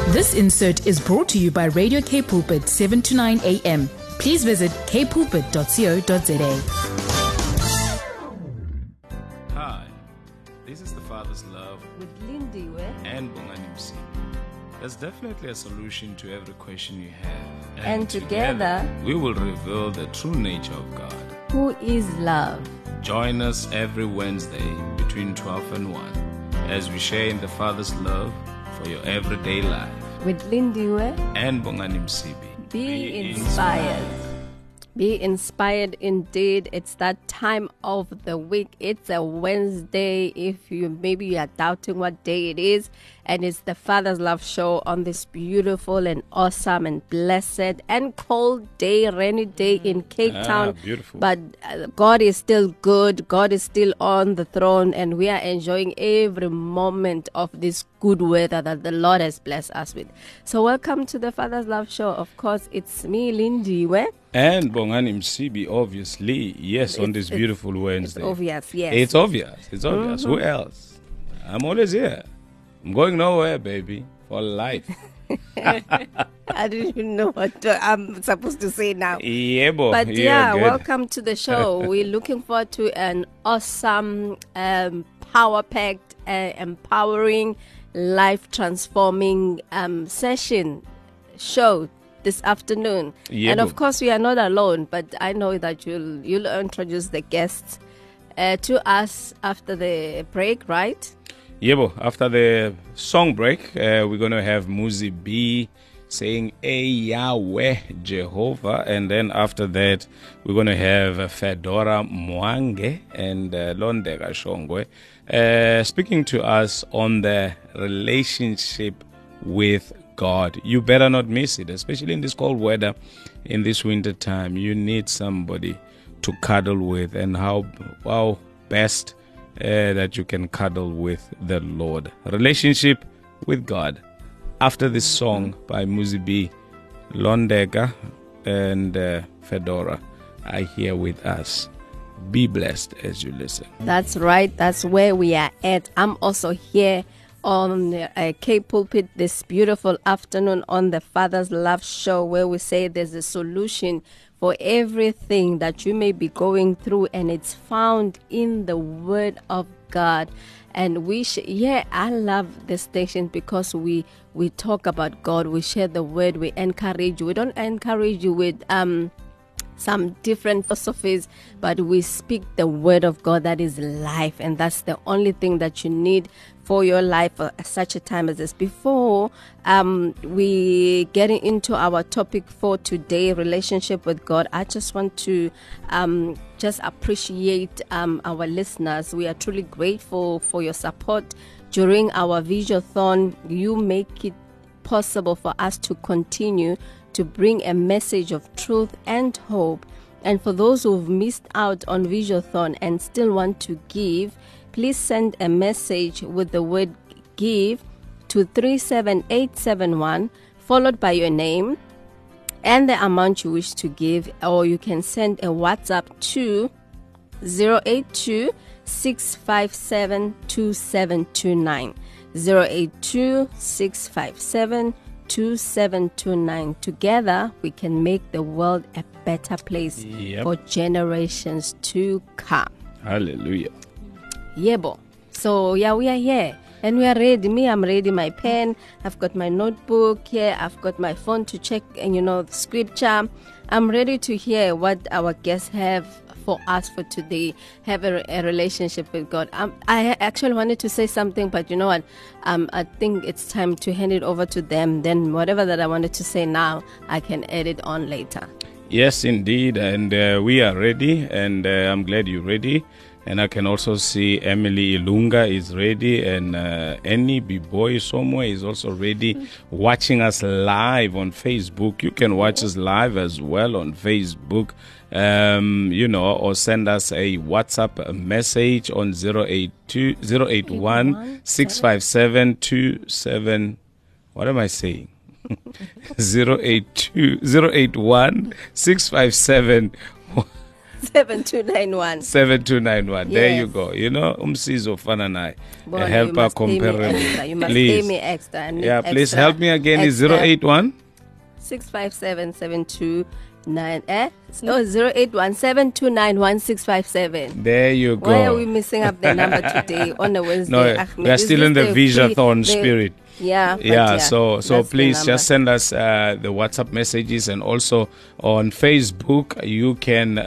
This insert is brought to you by Radio K Pulpit 7 to 9 a.m. Please visit kpulpit.co.za. Hi, this is The Father's Love with Lindy and Bongani Msibi. There's definitely a solution to every question you have. And together we will reveal the true nature of God, who is love. Join us every Wednesday between 12 and 1 as we share in the Father's love for your everyday life. With Lindy and Bongani Msibi. Be inspired. Be inspired indeed. It's that time of the week. It's a Wednesday. If you are doubting what day it is, and it's the Father's Love Show on this beautiful and awesome and blessed and cold day, rainy day in Cape Town. Beautiful. But God is still good. God is still on the throne, and we are enjoying every moment of this good weather that the Lord has blessed us with. So welcome to the Father's Love Show. Of course, it's me, Lindy, and Bongani Msibi, obviously. Yes, on this beautiful Wednesday. It's obvious, yes. It's obvious. Mm-hmm. Who else? I'm always here. I'm going nowhere, baby, for life. I don't even know what I'm supposed to say now. Yeah, boy. But yeah, welcome to the show. We're looking forward to an awesome, power-packed, empowering, life-transforming show this afternoon. Yeah, and of course, we are not alone, but I know that you'll introduce the guests to us after the break, right? Yeah, after the song break, we're going to have Muzi B saying, "Hey Yahweh Jehovah," and then after that, we're going to have Fedora Mwange and Londega Shongwe speaking to us on the relationship with God. You better not miss it, especially in this cold weather, in this winter time. You need somebody to cuddle with, and how best that you can cuddle with the Lord. Relationship with God. After this song by Muzi B, Londega and Fedora are here with us. Be blessed as you listen. That's right. That's where we are at. I'm also here on K Pulpit this beautiful afternoon on the Father's Love Show, where we say there's a solution for everything that you may be going through, and it's found in the Word of God. And I love this station because we talk about God, we share the Word, we encourage you. We don't encourage you with some different philosophies, but we speak the Word of God that is life, and that's the only thing that you need for your life for such a time as this. Before we get into our topic for today, relationship with God, I just want to just appreciate our listeners. We are truly grateful for your support during our Visiothon. You make it possible for us to continue to bring a message of truth and hope. And for those who've missed out on Visiothon and still want to give, please send a message with the word give to 37871, followed by your name and the amount you wish to give, or you can send a WhatsApp to 082 657 2729. 082 657 2729. Together we can make the world a better place for generations to come. Hallelujah. Yebo. So we are here and we are ready. I'm ready. My pen, I've got my notebook here, I've got my phone to check the scripture. I'm ready to hear what our guests have for us for today. Have a relationship with God. I actually wanted to say something, but you know what? I think it's time to hand it over to them. Then whatever that I wanted to say now, I can add it on later. Yes, indeed. And we are ready, and I'm glad you're ready. And I can also see Emily Ilunga is ready, and Annie B-Boy somewhere is also ready, watching us live on Facebook. You can watch us live as well on Facebook, or send us a WhatsApp message on 081 657 27. What am I saying? 081 657 7291. 7291. There you Yes. go. You know, umsizo fana naye. Boy, A you helper must pay me comparable. extra. You must Please. pay me extra. I need Yeah, please extra- help me again. Is extra 081? 657-729 No, 0817291657. There you go. Why are we missing up the number today on a Wednesday? No, Ahmed? we are Is still this in the Visathon the- spirit. Yeah, but Yeah, so that's the please number. just send us the WhatsApp messages, and also on Facebook you can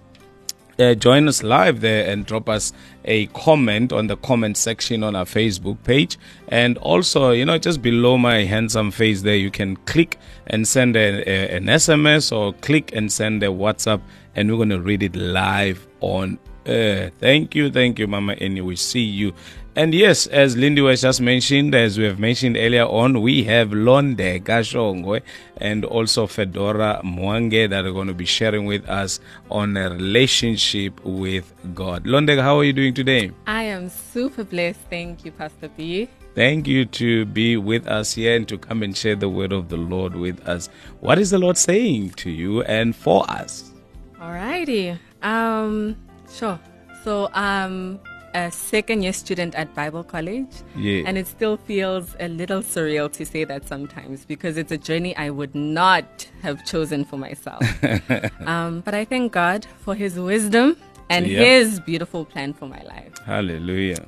join us live there and drop us a comment on the comment section on our Facebook page. And also, you know, just below my handsome face there, you can click and send an SMS, or click and send a WhatsApp, and we're going to read it live on air. Thank you, Mama Eni. We see you. And yes, as Lindy was just mentioned, as we have mentioned earlier on, we have Londe Gashongwe and also Fedora Mwange that are going to be sharing with us on a relationship with God. Londe, how are you doing today? I am super blessed. Thank you, Pastor B. Thank you to be with us here and to come and share the word of the Lord with us. What is the Lord saying to you and for us? Alrighty. Sure. So I'm a second-year student at Bible College. Yeah. And it still feels a little surreal to say that sometimes, because it's a journey I would not have chosen for myself. But I thank God for His wisdom and Yep. His beautiful plan for my life. Hallelujah.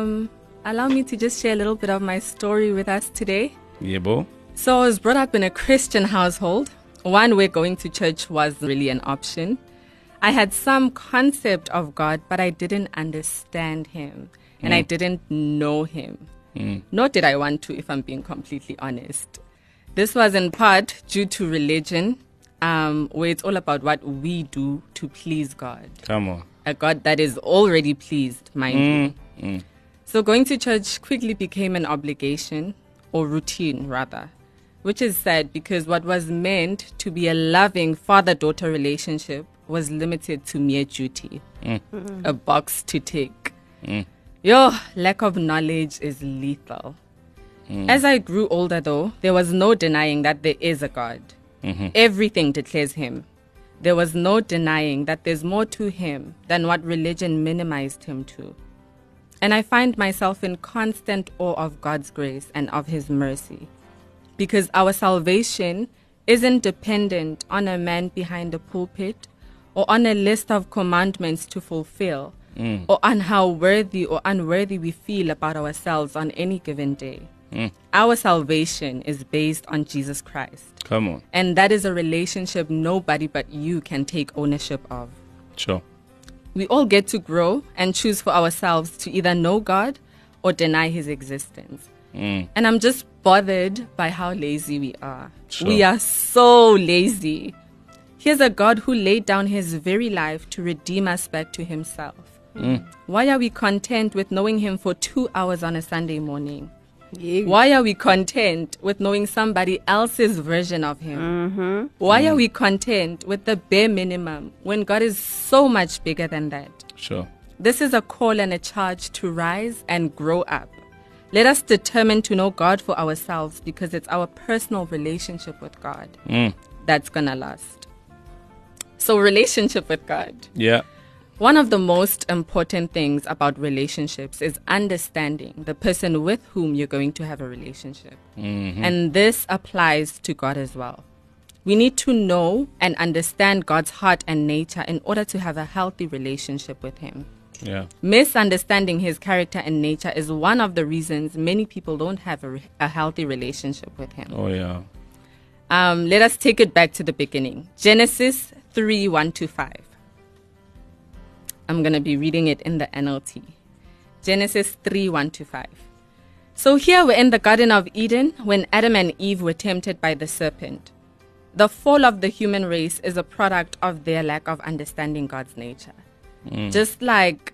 Allow me to just share a little bit of my story with us today. Yebo. So I was brought up in a Christian household, one where going to church was really an option. I had some concept of God, but I didn't understand Him, and I didn't know Him. Nor did I want to, if I'm being completely honest. This was in part due to religion, where it's all about what we do to please God. Come on. A God that is already pleased, mind you. So going to church quickly became an obligation, or routine rather, which is sad because what was meant to be a loving father-daughter relationship was limited to mere duty, a box to tick. Your lack of knowledge is lethal. As I grew older though, there was no denying that there is a God. Everything declares Him. There was no denying that there's more to Him than what religion minimized Him to. And I find myself in constant awe of God's grace and of His mercy, because our salvation isn't dependent on a man behind a pulpit or on a list of commandments to fulfill, or on how worthy or unworthy we feel about ourselves on any given day. Our salvation is based on Jesus Christ. Come on. And that is a relationship nobody but you can take ownership of. Sure. We all get to grow and choose for ourselves to either know God or deny His existence. And I'm just bothered by how lazy we are. Sure. We are so lazy. Here's a God who laid down His very life to redeem us back to Himself. Why are we content with knowing Him for 2 hours on a Sunday morning? Yeah. Why are we content with knowing somebody else's version of Him? Why are we content with the bare minimum when God is so much bigger than that? Sure. This is a call and a charge to rise and grow up. Let us determine to know God for ourselves, because it's our personal relationship with God that's going to last. So, relationship with God. Yeah. One of the most important things about relationships is understanding the person with whom you're going to have a relationship. And this applies to God as well. We need to know and understand God's heart and nature in order to have a healthy relationship with Him. Yeah. Misunderstanding His character and nature is one of the reasons many people don't have a healthy relationship with Him. Oh, yeah. Let us take it back to the beginning. Genesis 3:1-5. I'm going to be reading it in the NLT. Genesis 3:1-5. So here we're in the Garden of Eden when Adam and Eve were tempted by the serpent. The fall of the human race is a product of their lack of understanding God's nature. Just like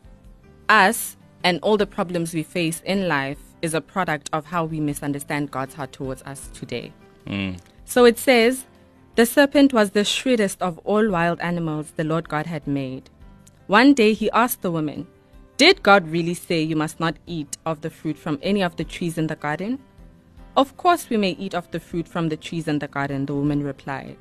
us and all the problems we face in life is a product of how we misunderstand God's heart towards us today. So it says, the serpent was the shrewdest of all wild animals the Lord God had made. One day he asked the woman, did God really say you must not eat of the fruit from any of the trees in the garden? Of course we may eat of the fruit from the trees in the garden, the woman replied.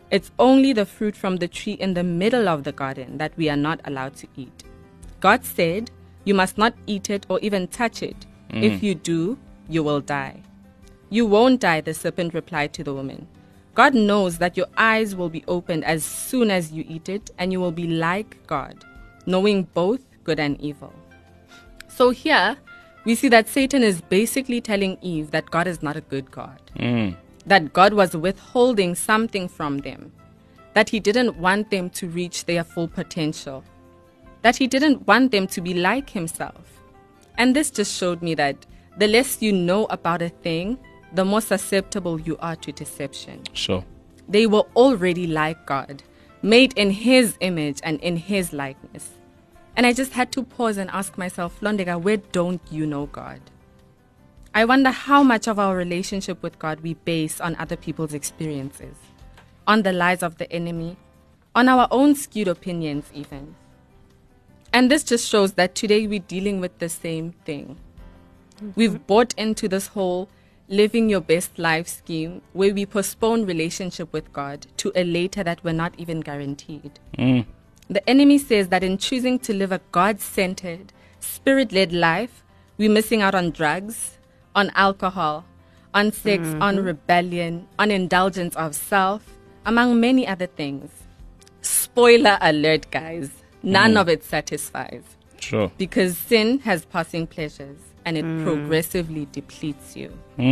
It's only the fruit from the tree in the middle of the garden that we are not allowed to eat. God said, you must not eat it or even touch it. If you do, you will die. You won't die, the serpent replied to the woman. God knows that your eyes will be opened as soon as you eat it, and you will be like God, knowing both good and evil. So here, we see that Satan is basically telling Eve that God is not a good God. That God was withholding something from them. That he didn't want them to reach their full potential. That he didn't want them to be like himself. And this just showed me that the less you know about a thing, the more susceptible you are to deception. Sure. They were already like God, made in his image and in his likeness. And I just had to pause and ask myself, Londega, where don't you know God? I wonder how much of our relationship with God we base on other people's experiences, on the lies of the enemy, on our own skewed opinions even. And this just shows that today we're dealing with the same thing. We've bought into this whole living your best life scheme where we postpone relationship with God to a later that we're not even guaranteed. The enemy says that in choosing to live a God-centered, spirit-led life, we're missing out on drugs, on alcohol, on sex, on rebellion, on indulgence of self, among many other things. Spoiler alert, guys. None of it satisfies. Sure. Because sin has passing pleasures and it progressively depletes you.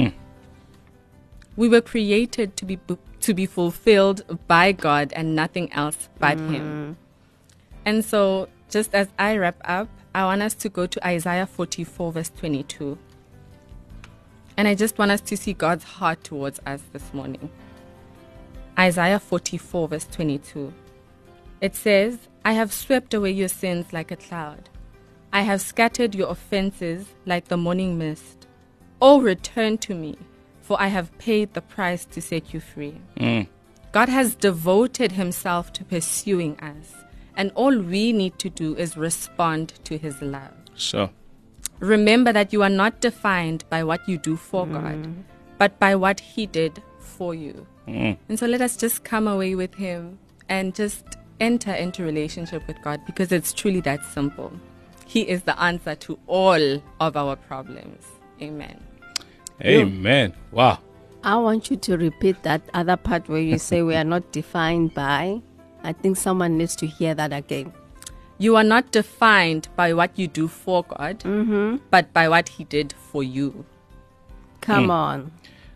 We were created to be fulfilled by God and nothing else but him. And so, just as I wrap up, I want us to go to Isaiah 44 verse 22. And I just want us to see God's heart towards us this morning. Isaiah 44 verse 22. It says, I have swept away your sins like a cloud. I have scattered your offenses like the morning mist. Oh, return to me, for I have paid the price to set you free. God has devoted himself to pursuing us, and all we need to do is respond to his love. Sure. Remember that you are not defined by what you do for God, but by what he did for you. And so let us just come away with him and just enter into relationship with God, because it's truly that simple. He is the answer to all of our problems. Amen. Amen. Wow. I want you to repeat that other part where you say we are not defined by. I think someone needs to hear that again. You are not defined by what you do for God, but by what he did for you. Come on.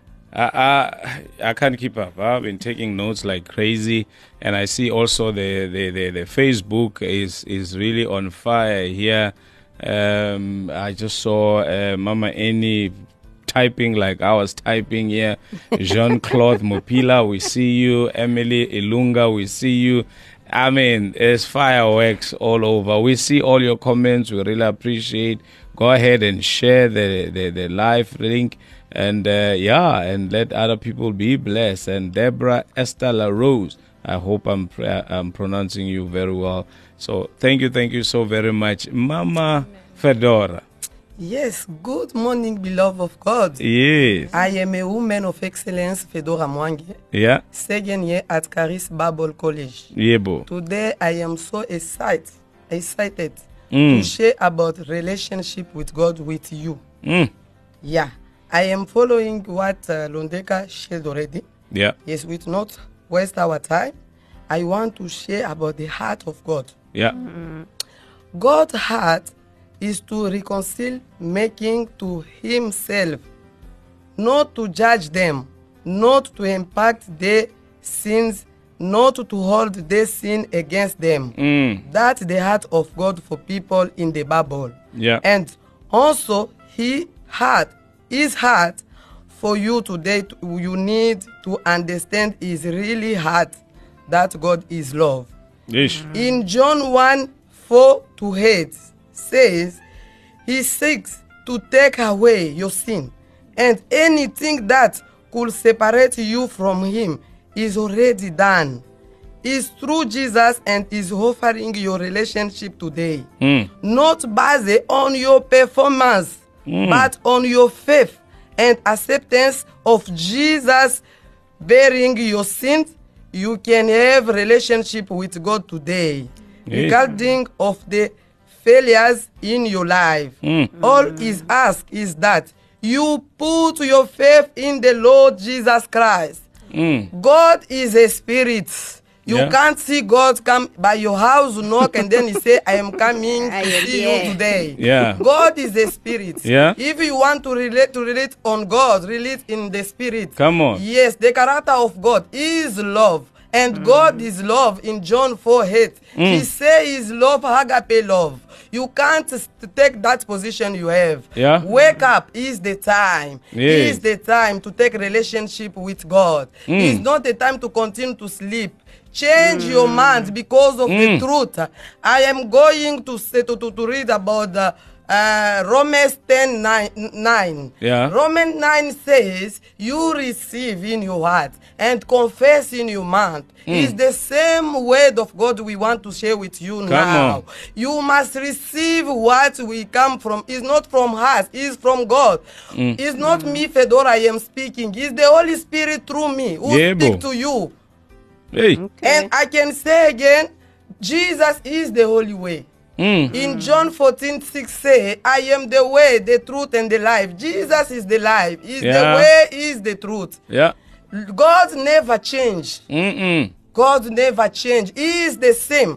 I can't keep up. I've been taking notes like crazy, and I see also the Facebook is really on fire here. I just saw Mama Annie typing like I was typing here. Jean-Claude Mopila, we see you. Emily Ilunga, we see you. I mean, there's fireworks all over. We see all your comments. We really appreciate. Go ahead and share the live link. And and let other people be blessed. And Deborah Esther LaRose, I hope I'm pronouncing you very well. So thank you so very much, Mama Fedora. Yes, good morning, beloved of God. Yes. I am a woman of excellence, Fedora Mwangi. Yeah. Second year at Caris Bible College. Yebo. Today I am so excited to share about relationship with God with you. Yeah. I am following what Londeka shared already. Yeah. Yes, with not waste our time, I want to share about the heart of God. Yeah. God's heart is to reconcile, making to himself, not to judge them, not to impact their sins, not to hold their sin against them. That's the heart of God for people in the Bible. Yeah. And also his heart for you today, you need to understand is really heart that God is love. Yes. In John 1:4-8 says, he seeks to take away your sin, and anything that could separate you from him is already done. It's through Jesus and is offering your relationship today. Not based on your performance, but on your faith and acceptance of Jesus bearing your sins you can have relationship with God today. Yes. Regarding of the failures in your life, all is asked is that you put your faith in the Lord Jesus Christ. God is a spirit. You Yeah. can't see God come by your house, knock, and then he say, I am coming I to am see here. you today. Yeah. God is a spirit. Yeah. If you want to relate on God, relate in the spirit. Come on. Yes, the character of God is love. And God is love in John 4:8. He says love, agape love. You can't take that position you have. Yeah. Wake up is the time. Yes. Is the time to take relationship with God. It's not the time to continue to sleep. Change your mind because of the truth. I am going to say to read about Romans 10:9. Yeah. Romans 9 says, you receive in your heart and confess in your mouth. It's the same word of God we want to share with you now. on. You must receive what we come from. It's not from us, it's from God. It's not me, Fedora, I am speaking. It's the Holy Spirit through me who Yebo. speak to you. Hey. And I can say again, Jesus is the holy way. In John 14:6 say, I am the way, the truth, and the life. Jesus is the life. Is Yeah. the way, is the truth. Yeah. God never changed. God never changed. He is the same.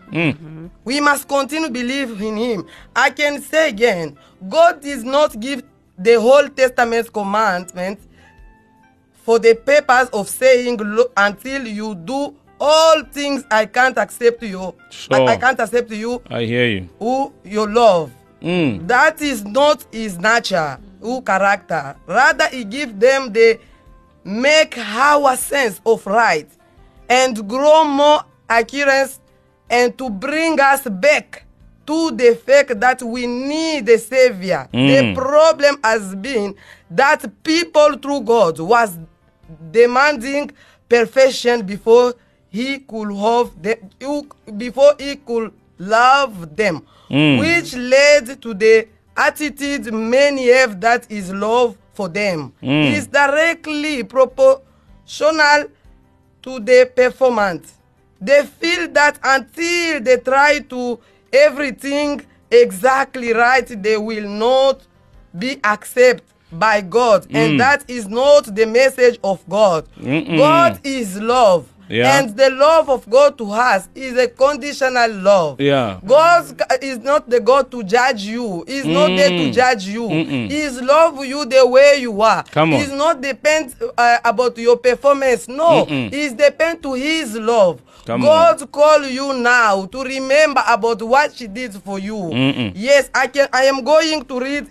We must continue believe in him. I can say again, God did not give the whole Testament commandments for the purpose of saying, until you do all things, I can't accept you. Sure. I can't accept you I hear you. who you love. That is not his nature, who character. Rather, he give them the make our sense of right and grow more accurate and to bring us back to the fact that we need a savior. The problem has been that people through God was demanding perfection before he could have them, before he could love them, which led to the attitude many have that is love for them. Is directly proportional to the performance. They feel that until they try to everything exactly right, they will not be accepted by God. And that is not the message of God. God is love. Yeah. And the love of God to us is a conditional love. Yeah. God is not the God to judge you. He's not there to judge you. He's love you the way you are. Come on. He's not depend about your performance. No. He's depend to his love. Come God call you now to remember about what she did for you. Yes, I am going to read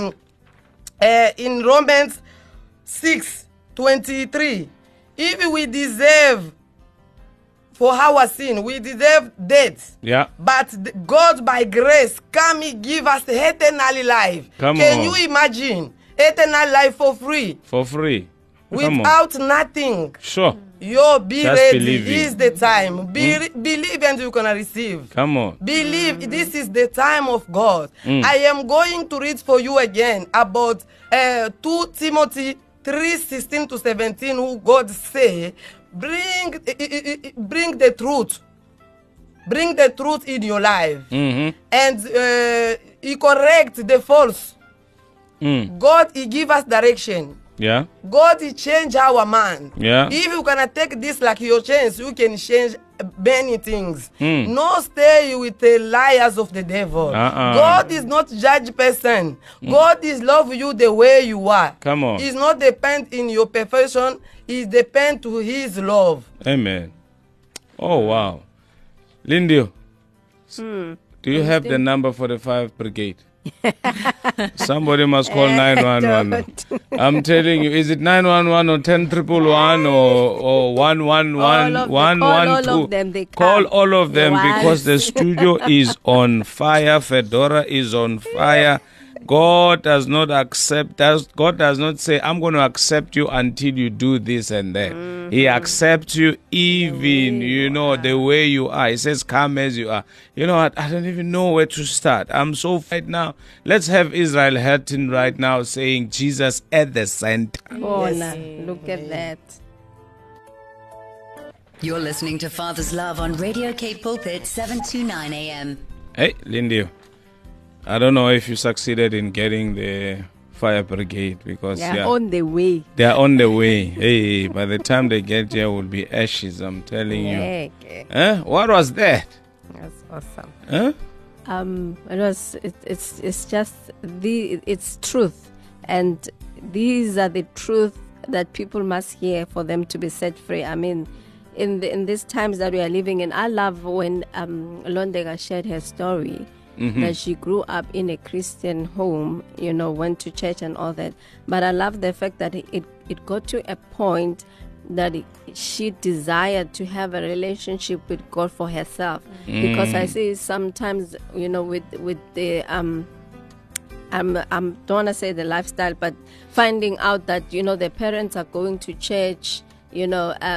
in Romans 6:23. If we deserve for our sin, we deserve death. Yeah. But God by grace come and give us eternal life. Come Can on. you imagine eternal life for free For free. Come on. without nothing? Sure. Yo, be Just ready. believing. Is the time. Believe and you're gonna receive. Come on. Believe this is the time of God. I am going to read for you again about 2 Timothy 3:16-17, who God say, bring the truth. Bring the truth in your life. And he correct the false. God, he give us direction. Yeah. God, he change our mind. Yeah. If you gonna take this like your chance, you can change many things. No stay with the liars of the devil. God is not judge person. God is love you the way you are. Come on. He's not depend in your perfection. He depend to his love. Amen. Oh, wow. Lindio, do you have the number for the 5 brigade? Somebody must call 911. I'm telling you, is it 911 or 1011 or 111 112? all of them, they Call come. all of them Once. because the studio is on fire. Fedora is on fire. God does not accept us. God does not say, I'm going to accept you until you do this and that. He accepts you even, the way you are. He says, come as you are. You know what? I don't even know where to start. I'm so right now. Let's have Israel Hurton right now saying Jesus at the center. Oh, nah, look at that. You're listening to Father's Love on Radio Cape Pulpit, 729 AM. Hey, Lindy, I don't know if you succeeded in getting the fire brigade because They're on the way. they are on the way. Hey, by the time they get here, will be ashes. I'm telling you. Okay. Huh? What was that? That's awesome. Huh? It's just it's truth, and these are the truth that people must hear for them to be set free. I mean, in these times that we are living in, I love when Londega shared her story. That she grew up in a Christian home, went to church and all that. But I love the fact that it got to a point that she desired to have a relationship with God for herself. Because I see sometimes, with the don't want to say the lifestyle, but finding out that the parents are going to church. In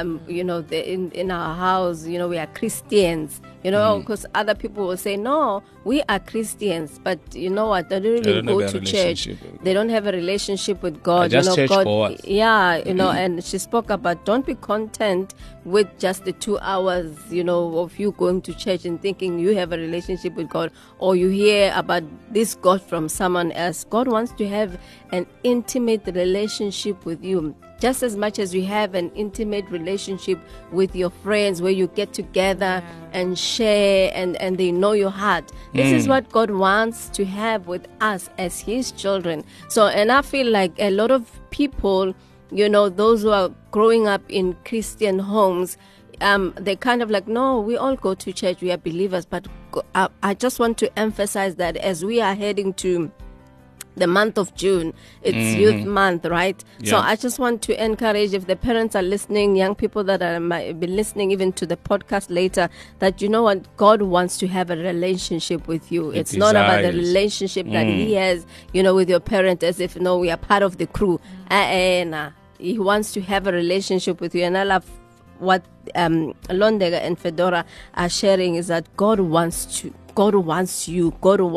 our house, we are Christians, because other people will say, no, we are Christians, but you know what, they don't even go to church. They don't have a relationship with God. Just church God, goers. And she spoke about don't be content with just the 2 hours, of you going to church and thinking you have a relationship with God, or you hear about this God from someone else. God wants to have an intimate relationship with you. Just as much as you have an intimate relationship with your friends where you get together and share and they know your heart. This is what God wants to have with us as His children. So, and I feel like a lot of people, those who are growing up in Christian homes, they kind of like, no, we all go to church, we are believers. But I just want to emphasize that as we are heading to the month of June, it's youth month, right? Yeah. So I just want to encourage, if the parents are listening, young people that might be listening even to the podcast later, that what, God wants to have a relationship with you. It's not about the relationship that He has, with your parent, as if, no, we are part of the crew. Nah. He wants to have a relationship with you. And I love what Londega and Fedora are sharing, is that God wants you. God wants you.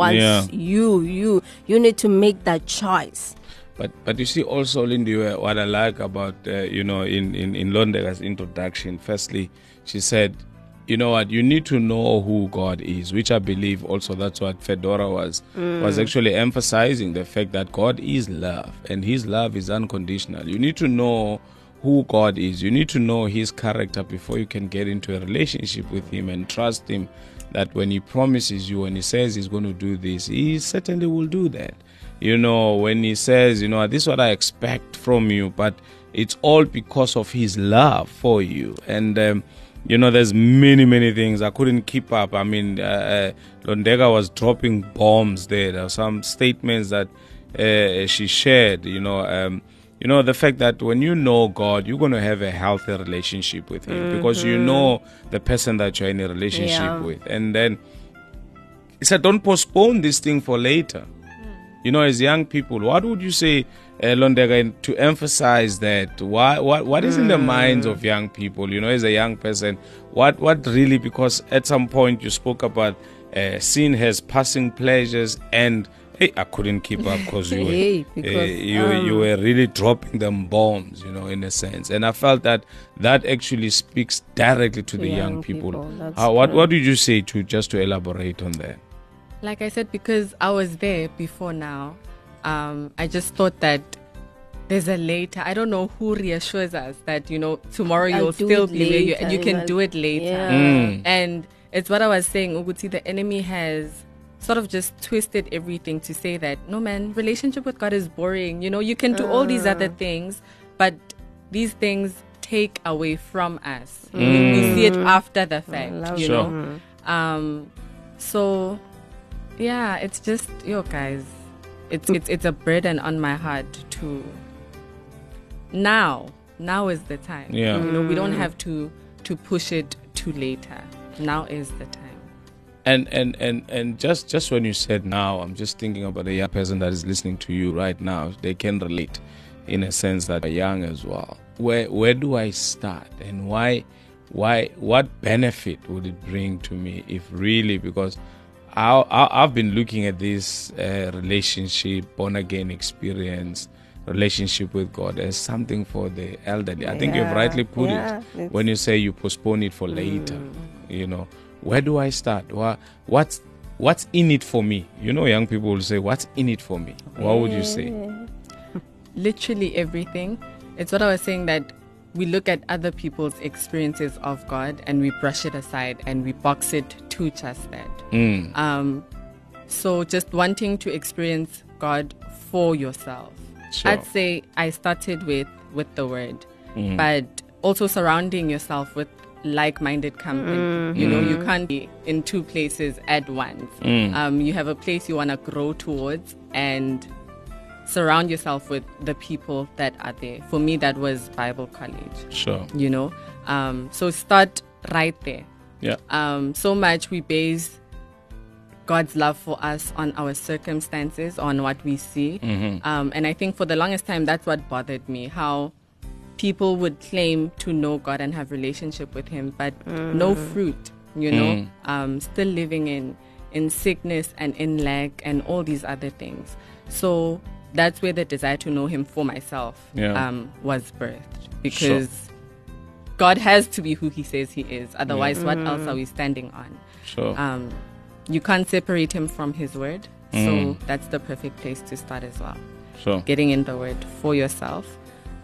You need to make that choice. But you see also, Lindy, what I like about in Londega's introduction, firstly, she said, you know what, you need to know who God is, which I believe also that's what Fedora was actually emphasizing, the fact that God is love and His love is unconditional. You need to know who God is. You need to know His character before you can get into a relationship with Him and trust Him that when He promises you, when He says He's going to do this, He certainly will do that. When He says, this is what I expect from you, but it's all because of His love for you. And, there's many things. I couldn't keep up. I mean, Londega was dropping bombs there. There are some statements that she shared, the fact that when you know God, you're going to have a healthy relationship with Him because you know the person that you're in a relationship with. And then he said, don't postpone this thing for later. As young people, what would you say, Londega, to emphasize that? What is in the minds of young people, as a young person? What really, because at some point you spoke about sin has passing pleasures, and I couldn't keep up because you were really dropping them bombs, in a sense. And I felt that actually speaks directly to the young people. What did you say just to elaborate on that? Like I said, because I was there before now, I just thought that there's a later. I don't know who reassures us that, tomorrow you'll still be where you can do it later. Yeah. And it's what I was saying, Uguti, the enemy has sort of just twisted everything to say that, no man, relationship with God is boring. You can do all these other things, but these things take away from us. We see it after the fact, So, yeah, it's just, guys, it's a burden on my heart to, now is the time. Yeah. We don't have to push it to later. Now is the time. And just when you said now, I'm just thinking about a young person that is listening to you right now. They can relate in a sense that they're young as well. Where do I start, and why what benefit would it bring to me if really, because I've been looking at this relationship, born again experience relationship with God as something for the elderly. I think you've Yeah, rightly put yeah, it when you say you postpone it for later. You know, where do I start? What's in it for me? You know, young people will say, what's in it for me? What would you say? Literally everything. It's what I was saying, that we look at other people's experiences of God and we brush it aside and we box it to just that. So just wanting to experience God for yourself. Sure. I'd say I started with the word, but also surrounding yourself with like-minded company. You know, you can't be in two places at once. You have a place you want to grow towards, and surround yourself with the people that are there. For me, that was Bible college. Sure. You know, so start right there. Yeah. So much we base God's love for us on our circumstances, on what we see. And I think for the longest time, that's what bothered me, how people would claim to know God and have relationship with him, but no fruit, you know, still living in sickness and in lack and all these other things. So that's where the desire to know him for myself was birthed, because God has to be who he says he is. Otherwise, what else are we standing on? Sure. You can't separate him from his word. So that's the perfect place to start as well. Sure. Getting in the word for yourself.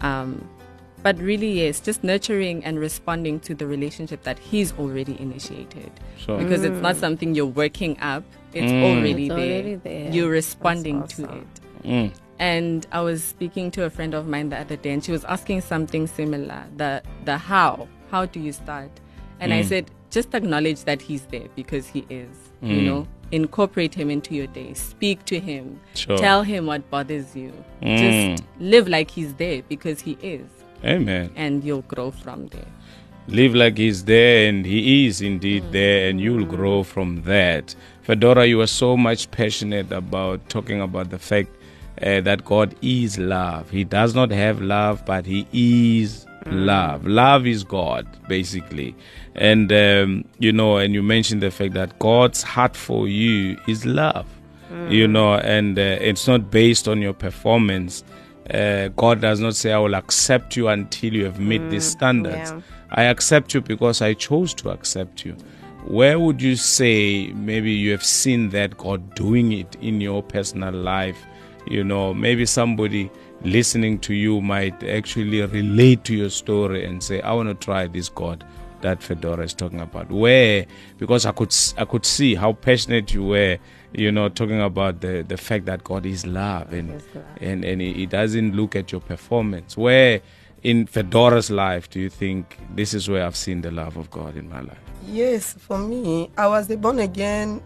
But really, yes, just nurturing and responding to the relationship that he's already initiated. Sure. Because it's not something you're working up. It's already It's there. already there. You're responding That's to awesome. it. And I was speaking to a friend of mine the other day, and she was asking something similar. The how. How do you start? And I said, just acknowledge that he's there because he is. You know, incorporate him into your day. Speak to him. Sure. Tell him what bothers you. Just live like he's there because he is. Amen. And you'll grow from there. Live like he's there, and he is indeed there, and you'll grow from that. Fedora, you are so much passionate about talking about the fact that God is love. He does not have love, but he is love. Love is God, basically. And, you know, and you mentioned the fact that God's heart for you is love, you know, and it's not based on your performance. God does not say, I will accept you until you have met these standards. Yeah. I accept you because I chose to accept you. Where would you say maybe you have seen that God doing it in your personal life? You know, maybe somebody listening to you might actually relate to your story and say, I want to try this God that Fedora is talking about. Where? Because I could see how passionate you were, you know, talking about the fact that God is love, and he doesn't look at your performance. Where in Fedora's life do you think this is where I've seen the love of God in my life? Yes, for me, I was born again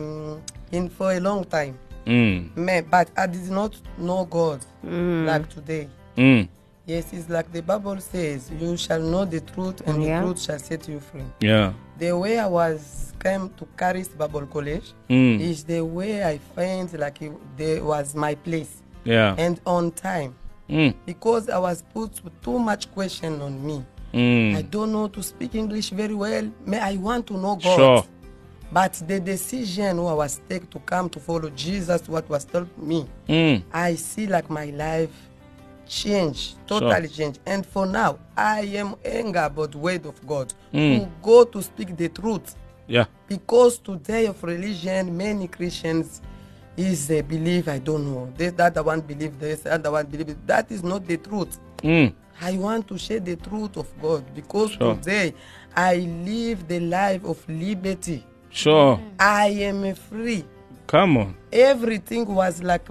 for a long time. But I did not know God like today. Yes, it's like the Bible says, you shall know the truth, and the truth shall set you free. Yeah. The way I came to Caris Bible College is the way I find like there was my place. Yeah. And on time. Because I was put too much question on me. I don't know to speak English very well. I want to know God. Sure. But the decision I was taken to come to follow Jesus, what was told me, I see like my life change, totally change. And for now, I am angry about the word of God. To go to speak the truth. Yeah. Because today of religion, many Christians is a belief, I don't know. That one believe this, other one believe it. That is not the truth. I want to share the truth of God because today I live the life of liberty. Sure. I am free. Come on. Everything was like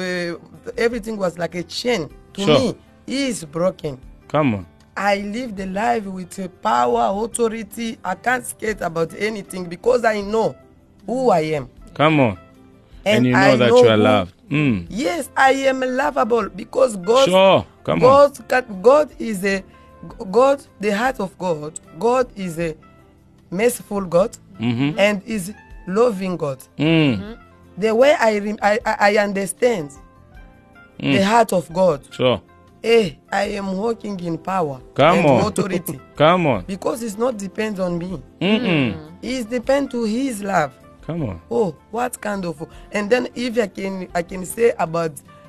a chain to me is broken. Come on. I live the life with power, authority. I can't skate about anything because I know who I am. Come on. And you know I that know you are who- loved. Yes, I am lovable because God. Sure. Come on. God is a God. The heart of God. God is a merciful God and is loving God. The way I understand the heart of God. Sure. I am walking in power Come and on. authority Come on. because it's not depend on me. Mm-mm. It's depend to His love. Come on. Oh, what kind of? And then if I can say about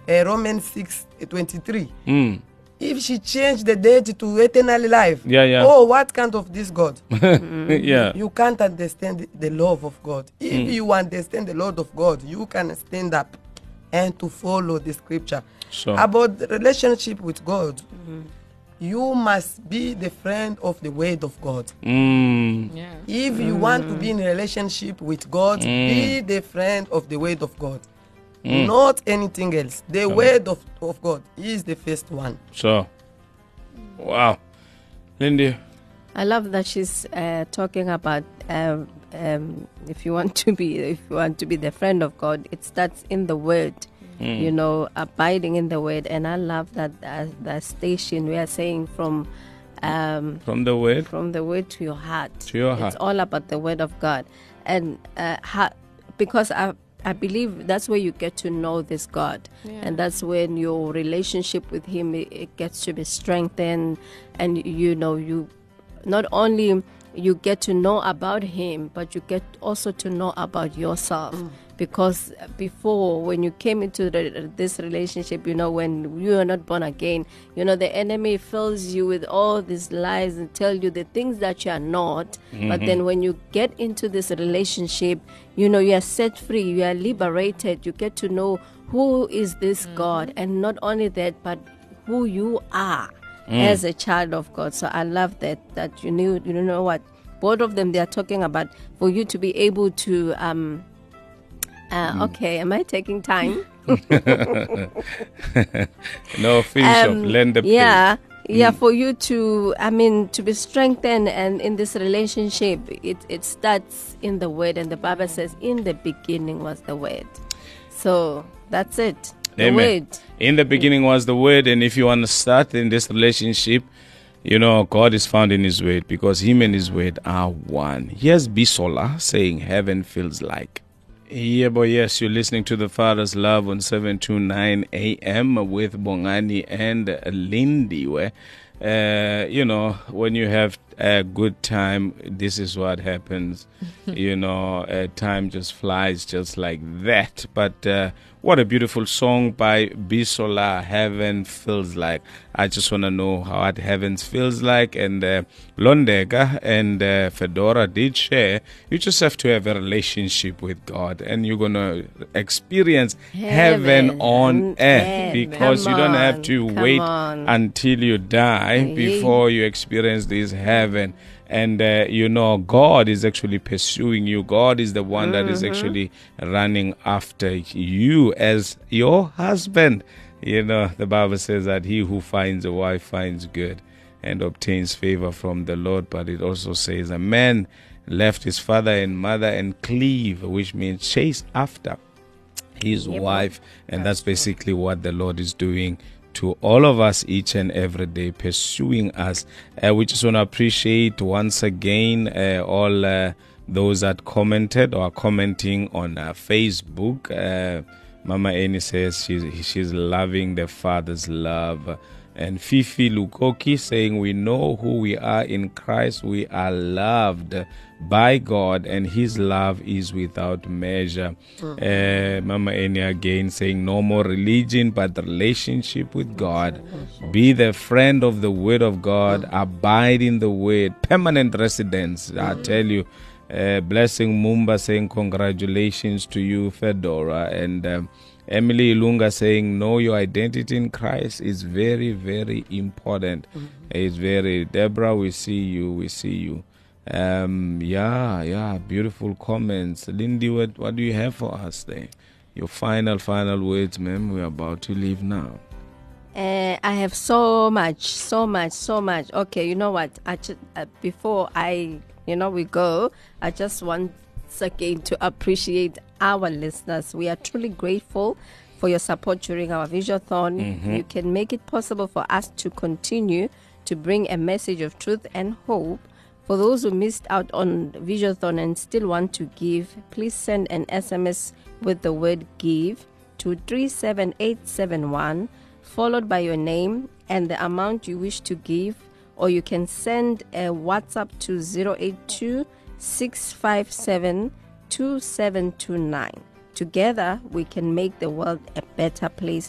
Romans 6:23. If she changed the dead to eternal life, Yeah. oh, what kind of this God? Yeah. You can't understand the love of God. If you understand the love of God, you can stand up and to follow the scripture. So- About the relationship with God, you must be the friend of the word of God. Yeah. If you want to be in a relationship with God, be the friend of the word of God. Not anything else. The word of God is the first one. So, wow. Lindy. I love that she's talking about if you want to be the friend of God, it starts in the Word. You know, abiding in the Word, and I love that that station we are saying from From the word. the Word to your heart. To your heart. It's all about the Word of God, and because I believe that's where you get to know this God, and that's when your relationship with Him it gets to be strengthened, and you know you not only you get to know about Him, but you get also to know about yourself. Because before, when you came into this relationship, you know, when you are not born again, you know, the enemy fills you with all these lies and tell you the things that you are not. But then when you get into this relationship, you know, you are set free, you are liberated, you get to know who is this God, and not only that, but who you are as a child of God. So I love that you know what, both of them, they are talking about for you to be able to okay, am I taking time? No, finish up. Lend the Yeah, for you to, to be strengthened, and in this relationship, it starts in the Word, and the Bible says, in the beginning was the Word. So that's it. The Amen. Word. In the beginning was the word, and if you want to start in this relationship, you know, God is found in His word, because Him and His word are one. Here's Bisola saying, heaven feels like. Yeah, boy, yes, you're listening to The Father's Love on 729 AM with Bongani and Lindy, where, you know, when you have a good time, this is what happens. You know, time just flies just like that. But what a beautiful song by Bisola, Heaven Feels Like. I just want to know how what heaven feels like. And Londega and Fedora did share. You just have to have a relationship with God, and you're going to experience heaven on earth, because you don't have to wait until you die before you experience this heaven. And, you know, God is actually pursuing you. God is the one that is actually running after you as your husband. You know, the Bible says that he who finds a wife finds good and obtains favor from the Lord. But it also says a man left his father and mother and cleave, which means chase after his wife. And that's basically what the Lord is doing to all of us each and every day, pursuing us. We just want to appreciate once again all those that commented or are commenting on Facebook. Mama Eni says she's loving the Father's love. And Fifi Lukoki saying, we know who we are in Christ. We are loved by God, and His love is without measure. Mama Eni again saying, no more religion, but the relationship with God. Be the friend of the Word of God. Abide in the Word. Permanent residence, I tell you. Blessing Mumba saying, congratulations to you, Fedora. And Emily Ilunga saying, know your identity in Christ is very, very important. It's very, Deborah, we see you. Yeah, beautiful comments. Lindy, what do you have for us there? Your final words, ma'am. We're about to leave now. I have so much. Okay, you know what? Before we go, I just want again to appreciate our listeners. We are truly grateful for your support during our Visionathon. You can make it possible for us to continue to bring a message of truth and hope. For those who missed out on Visionathon and still want to give, please send an SMS with the word give to 37871, followed by your name and the amount you wish to give, or you can send a WhatsApp to 082 657 2729. Together, we can make the world a better place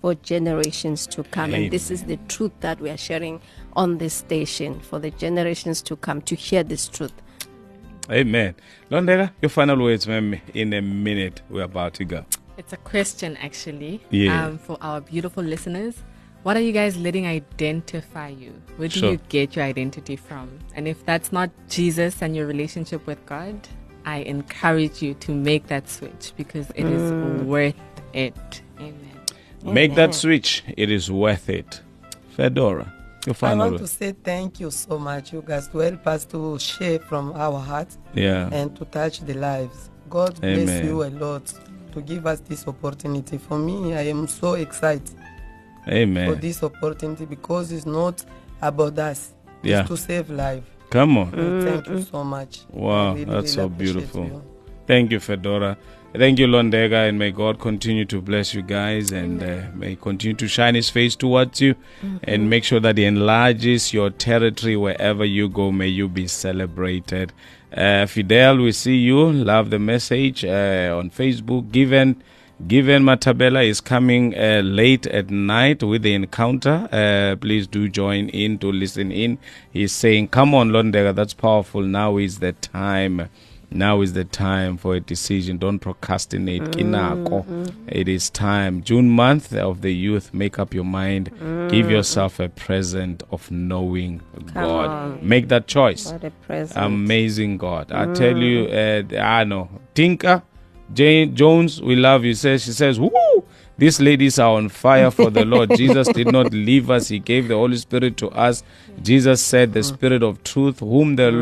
for generations to come. Amen. And this is the truth that we are sharing on this station for the generations to come to hear this truth. Amen. Londega, your final words, ma'am, in a minute. We're about to go. It's a question, actually, Yeah. for our beautiful listeners. What are you guys letting identify you? Where do Sure. you get your identity from? And if that's not Jesus and your relationship with God, I encourage you to make that switch because it is worth it. Amen. Make that switch. It is worth it. Fedora, your I final want to words. say thank you so much, you guys, to help us to share from our hearts Yeah. and to touch the lives. God bless Amen. you a lot to give us this opportunity. For me, I am so excited for Amen. this opportunity because it's not about us. Yeah. It's to save life. Come on. Thank you so much. Wow, I really, that's so really appreciate beautiful. you. Thank you, Fedora. Thank you, Londega, and may God continue to bless you guys and may He continue to shine His face towards you and make sure that He enlarges your territory wherever you go. May you be celebrated. Fidel, we see you. Love the message on Facebook. Given Matabella is coming late at night with the encounter. Please do join in to listen in. He's saying, come on, Londega, that's powerful. Now is the time. Now is the time for a decision. Don't procrastinate. Kinako. It is time. June month of the youth. Make up your mind. Give yourself a present of knowing God. on. Make that choice. What a present. Amazing God. I tell you, I know. Tinker, Jane Jones, we love you. She says, woo! These ladies are on fire for the Lord. Jesus did not leave us. He gave the Holy Spirit to us. Jesus said, the Spirit of truth, whom the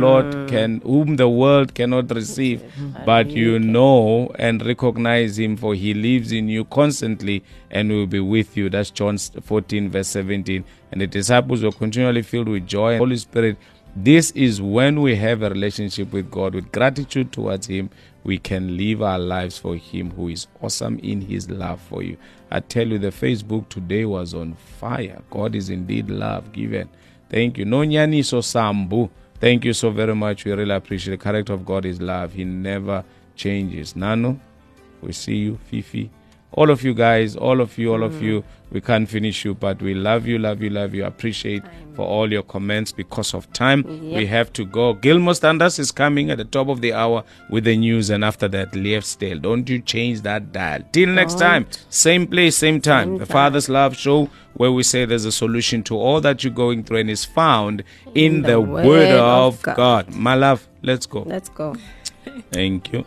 world cannot receive, but you know and recognize Him, for He lives in you constantly and will be with you. That's John 14, verse 17. And the disciples were continually filled with joy and Holy Spirit. This is when we have a relationship with God, with gratitude towards Him. We can live our lives for Him, who is awesome in His love for you. I tell you, the Facebook today was on fire. God is indeed love given. Thank you. Nonyani so Sambu. Thank you so very much. We really appreciate the character of God is love. He never changes. Nano, we see you. Fifi. All of you guys, all of you, we can't finish you, but we love you. Appreciate for all your comments. Because of time, we have to go. Gilmore Standards is coming at the top of the hour with the news, and after that, Leif's Tale. Don't you change that dial. Till next time, same place, same time. The Father's Love Show, where we say there's a solution to all that you're going through and is found in the Word of God. My love, let's go. Let's go. Thank you.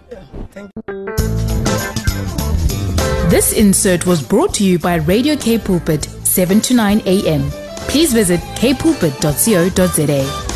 This insert was brought to you by Radio K Pulpit, 7 to 9 a.m. Please visit kpulpit.co.za.